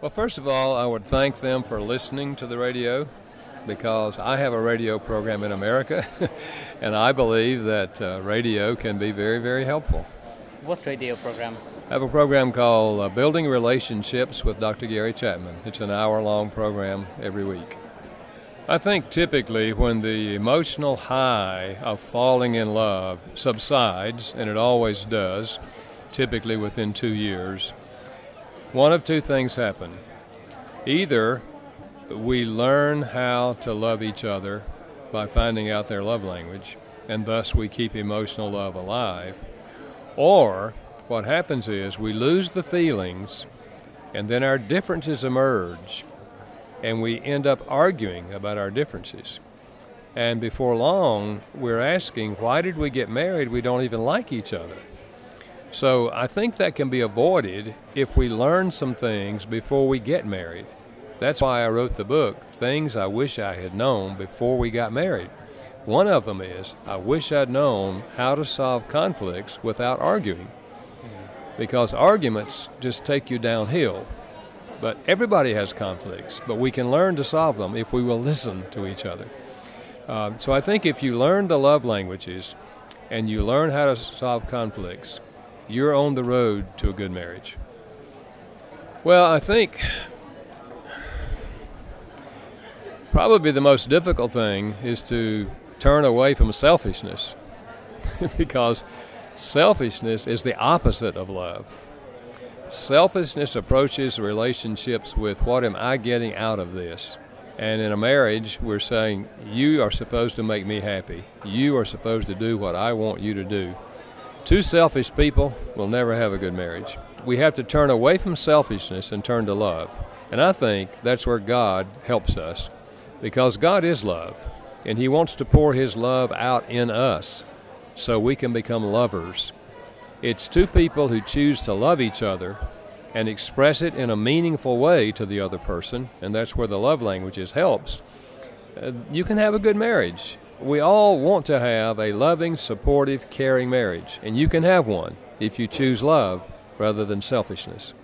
Well, first of all, I would thank them for listening to the radio because I have a radio program in America, and I believe that radio can be very, very helpful. What radio program? I have a program called Building Relationships with Dr. Gary Chapman. It's an hour-long program every week. I think typically when the emotional high of falling in love subsides, and it always does, typically within 2 years, one of two things happen. Either we learn how to love each other by finding out their love language, and thus we keep emotional love alive, or what happens is we lose the feelings, and then our differences emerge, and we end up arguing about our differences. And before long, we're asking, why did we get married? We don't even like each other. So I think that can be avoided if we learn some things before we get married. That's why I wrote the book, Things I Wish I Had Known Before We Got Married. One of them is, I wish I'd known how to solve conflicts without arguing. Because arguments just take you downhill. But everybody has conflicts, but we can learn to solve them if we will listen to each other. So I think if you learn the love languages and you learn how to solve conflicts, you're on the road to a good marriage. Well, I think probably the most difficult thing is to turn away from selfishness because selfishness is the opposite of love. Selfishness approaches relationships with what am I getting out of this? And in a marriage, we're saying, you are supposed to make me happy. You are supposed to do what I want you to do. Two selfish people will never have a good marriage. We have to turn away from selfishness and turn to love. And I think that's where God helps us, because God is love, and He wants to pour His love out in us so we can become lovers. It's two people who choose to love each other and express it in a meaningful way to the other person, and that's where the love languages helps. You can have a good marriage. We all want to have a loving, supportive, caring marriage, and you can have one if you choose love rather than selfishness.